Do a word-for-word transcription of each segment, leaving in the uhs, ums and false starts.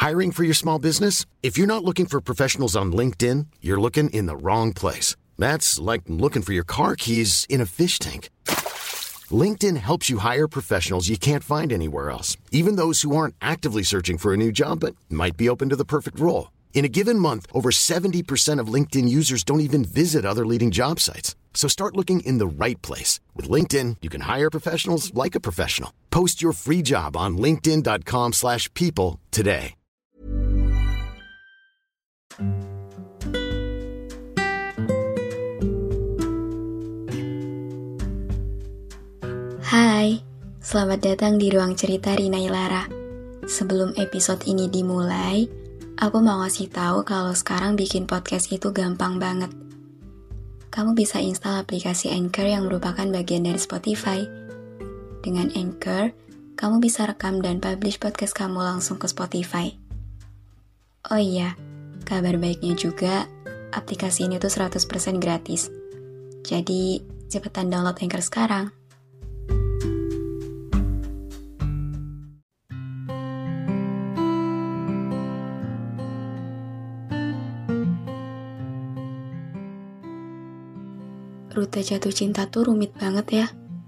Hiring for your small business? If you're not looking for professionals on LinkedIn, you're looking in the wrong place. That's like looking for your car keys in a fish tank. LinkedIn helps you hire professionals you can't find anywhere else, even those who aren't actively searching for a new job but might be open to the perfect role. In a given month, over seventy percent of LinkedIn users don't even visit other leading job sites. So start looking in the right place. With LinkedIn, you can hire professionals like a professional. Post your free job on linkedin.com slash people today. Hai, selamat datang di Ruang Cerita Rina Ilara. Sebelum episode ini dimulai, aku mau ngasih tahu kalau sekarang bikin podcast itu gampang banget. Kamu bisa install aplikasi Anchor yang merupakan bagian dari Spotify. Dengan Anchor, kamu bisa rekam dan publish podcast kamu langsung ke Spotify. Oh iya, kabar baiknya juga, aplikasi ini tuh seratus persen gratis. Jadi, cepetan download Anchor sekarang. Rute jatuh cinta tuh rumit banget ya.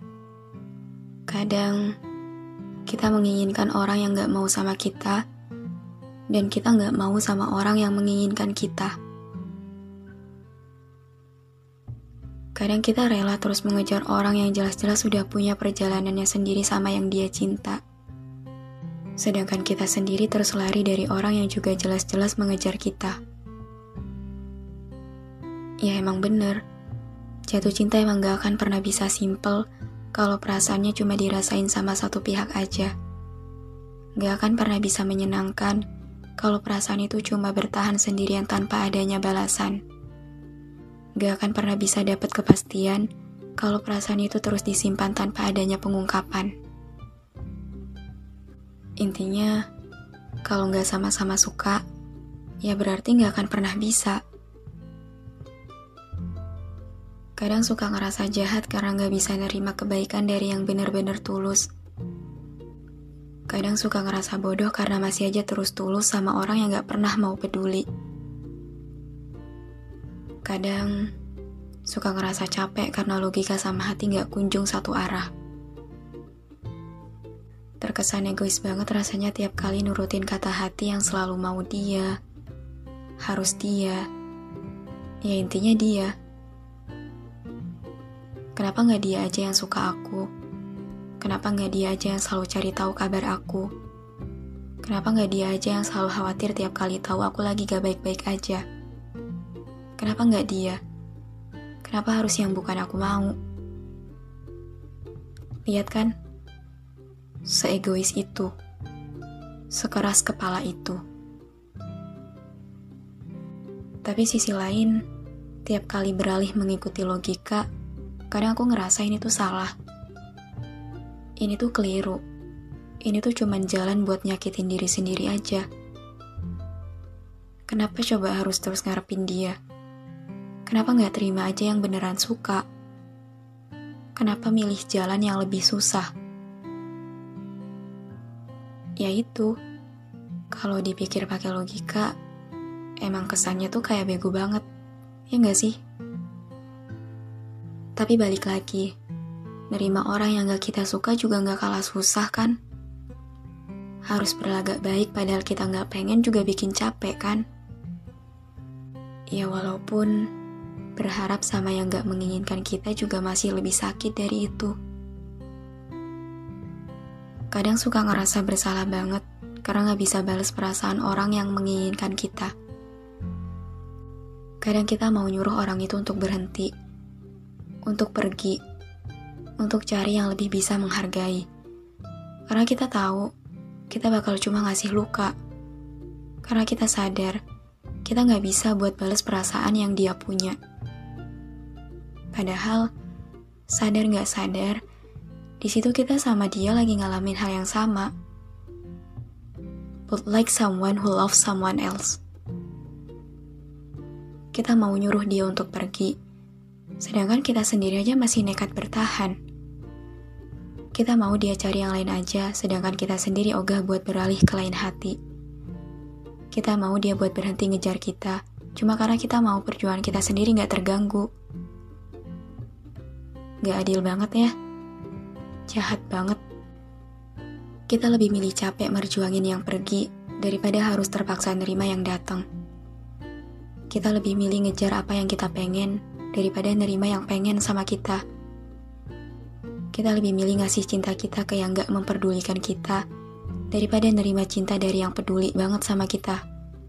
Kadang kita menginginkan orang yang gak mau sama kita, dan kita gak mau sama orang yang menginginkan kita. Kadang kita rela terus mengejar orang yang jelas-jelas sudah punya perjalanannya sendiri sama yang dia cinta. Sedangkan kita sendiri terus lari dari orang yang juga jelas-jelas mengejar kita. Ya emang bener. Jatuh cinta emang gak akan pernah bisa simple kalau perasaannya cuma dirasain sama satu pihak aja. Gak akan pernah bisa menyenangkan kalau perasaan itu cuma bertahan sendirian tanpa adanya balasan. Gak akan pernah bisa dapat kepastian kalau perasaan itu terus disimpan tanpa adanya pengungkapan. Intinya, kalau gak sama-sama suka, ya berarti gak akan pernah bisa. Kadang suka ngerasa jahat karena gak bisa nerima kebaikan dari yang benar-benar tulus. Kadang suka ngerasa bodoh karena masih aja terus tulus sama orang yang gak pernah mau peduli. Kadang suka ngerasa capek karena logika sama hati gak kunjung satu arah. Terkesan egois banget rasanya tiap kali nurutin kata hati yang selalu mau dia, harus dia, ya intinya dia. Kenapa gak dia aja yang suka aku? Kenapa gak dia aja yang selalu cari tahu kabar aku? Kenapa gak dia aja yang selalu khawatir tiap kali tahu aku lagi gak baik-baik aja? Kenapa gak dia? Kenapa harus yang bukan aku mau? Lihat kan? Seegois itu. Sekeras kepala itu. Tapi sisi lain, tiap kali beralih mengikuti logika, kadang aku ngerasa ini tuh salah. Ini tuh keliru. Ini tuh cuman jalan buat nyakitin diri sendiri aja. Kenapa coba harus terus ngarepin dia? Kenapa gak terima aja yang beneran suka? Kenapa milih jalan yang lebih susah? Ya itu, kalau dipikir pakai logika, emang kesannya tuh kayak bego banget. Ya gak sih? Tapi balik lagi, nerima orang yang gak kita suka juga gak kalah susah kan? Harus berlagak baik padahal kita gak pengen juga bikin capek kan? Ya walaupun berharap sama yang gak menginginkan kita juga masih lebih sakit dari itu. Kadang suka ngerasa bersalah banget karena gak bisa balas perasaan orang yang menginginkan kita. Kadang kita mau nyuruh orang itu untuk berhenti, untuk pergi, untuk cari yang lebih bisa menghargai. Karena kita tahu, kita bakal cuma ngasih luka. Karena kita sadar, kita gak bisa buat balas perasaan yang dia punya. Padahal, sadar gak sadar, di situ kita sama dia lagi ngalamin hal yang sama. But like someone who loves someone else. Kita mau nyuruh dia untuk pergi, sedangkan kita sendiri aja masih nekat bertahan. Kita mau dia cari yang lain aja, sedangkan kita sendiri ogah buat beralih ke lain hati. Kita mau dia buat berhenti ngejar kita, cuma karena kita mau perjuangan kita sendiri gak terganggu. Gak adil banget ya. Jahat banget. Kita lebih milih capek merjuangin yang pergi daripada harus terpaksa nerima yang datang. Kita lebih milih ngejar apa yang kita pengen daripada nerima yang pengen sama kita. Kita lebih milih ngasih cinta kita ke yang gak memperdulikan kita daripada nerima cinta dari yang peduli banget sama kita.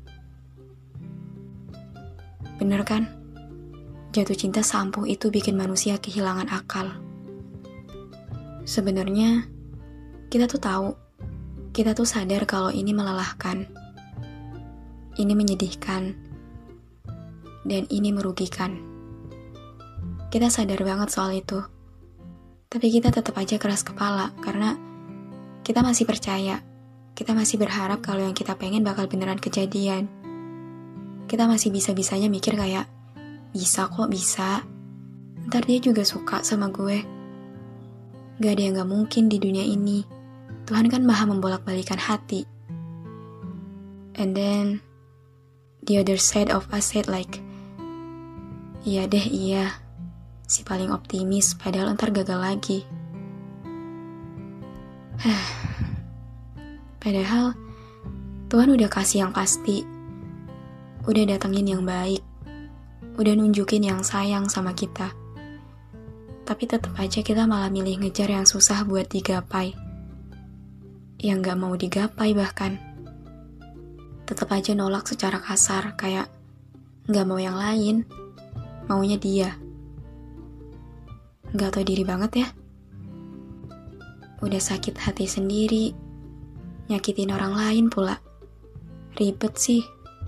Bener kan? Jatuh cinta seampuh itu bikin manusia kehilangan akal. Sebenarnya, kita tuh tahu, kita tuh sadar kalau ini melelahkan, ini menyedihkan, dan ini merugikan. Kita sadar banget soal itu. Tapi kita tetap aja keras kepala karena kita masih percaya. Kita masih berharap kalau yang kita pengen bakal beneran kejadian. Kita masih bisa-bisanya mikir kayak, bisa kok, bisa. Ntar dia juga suka sama gue. Gak ada yang gak mungkin di dunia ini. Tuhan kan maha membolak-balikan hati. And then, the other side of us said like, iya deh, iya. Si paling optimis, padahal ntar gagal lagi. Padahal, Tuhan udah kasih yang pasti. Udah datengin yang baik. Udah nunjukin yang sayang sama kita. Tapi tetap aja kita malah milih ngejar yang susah buat digapai. Yang gak mau digapai bahkan. Tetap aja nolak secara kasar, kayak gak mau yang lain, maunya dia. Gak tau diri banget ya. Udah sakit hati sendiri, nyakitin orang lain pula. Ribet sih.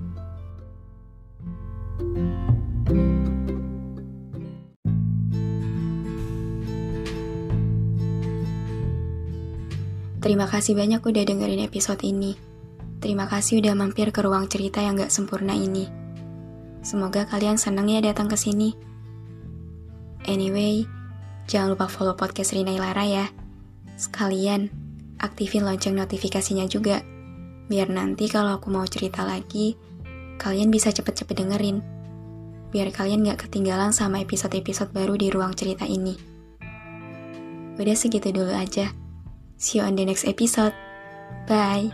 Terima kasih banyak udah dengerin episode ini. Terima kasih udah mampir ke ruang cerita yang gak sempurna ini. Semoga kalian seneng ya datang ke sini. Anyway, jangan lupa follow podcast Rina Ilara ya. Sekalian, aktifin lonceng notifikasinya juga. Biar nanti kalau aku mau cerita lagi, kalian bisa cepet-cepet dengerin. Biar kalian gak ketinggalan sama episode-episode baru di ruang cerita ini. Udah segitu dulu aja. See you on the next episode. Bye.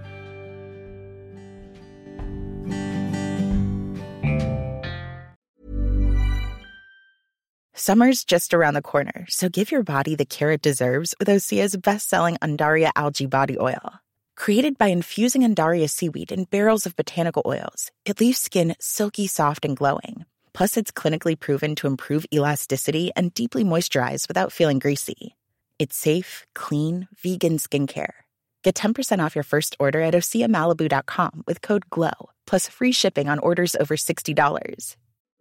Summer's just around the corner, so give your body the care it deserves with Osea's best-selling Undaria Algae Body Oil. Created by infusing Undaria seaweed in barrels of botanical oils, it leaves skin silky soft and glowing. Plus, it's clinically proven to improve elasticity and deeply moisturize without feeling greasy. It's safe, clean, vegan skincare. Get ten percent off your first order at osea malibu dot com with code GLOW, plus free shipping on orders over sixty dollars.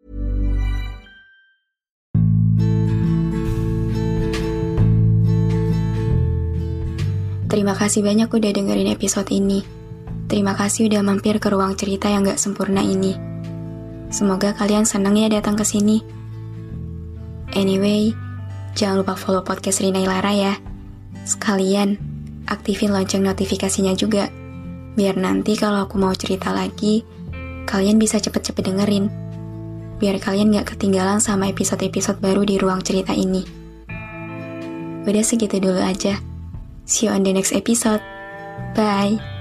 Terima kasih banyak udah dengerin episode ini. Terima kasih udah mampir ke ruang cerita yang gak sempurna ini. Semoga kalian seneng ya datang ke sini. Anyway, jangan lupa follow podcast Rina Ilara ya. Sekalian, aktifin lonceng notifikasinya juga. Biar nanti kalau aku mau cerita lagi, kalian bisa cepet-cepet dengerin. Biar kalian gak ketinggalan sama episode-episode baru di ruang cerita ini. Udah segitu dulu aja. See you on the next episode. Bye.